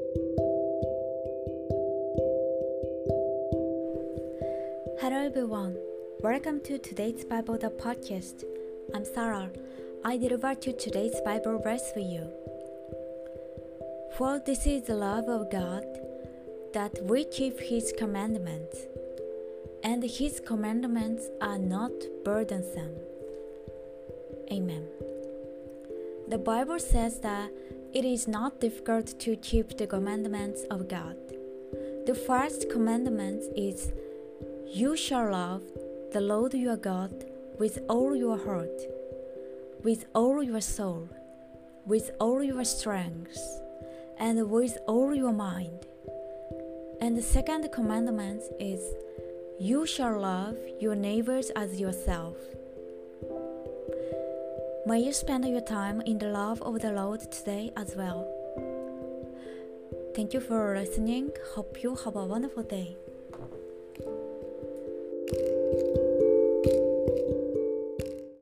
Hello everyone, welcome to today's Bible the podcast. I'm Sarah. I deliver to today's Bible verse for you. For this is the love of God, that we keep His commandments, and His commandments are not burdensome. Amen. The Bible says that it is not difficult to keep the commandments of God. The first commandment is, "You shall love the Lord your God with all your heart, with all your soul, with all your strength, and with all your mind." And the second commandment is, "You shall love your neighbors as yourself." May you spend your time in the love of the Lord today as well. Thank you for listening. Hope you have a wonderful day.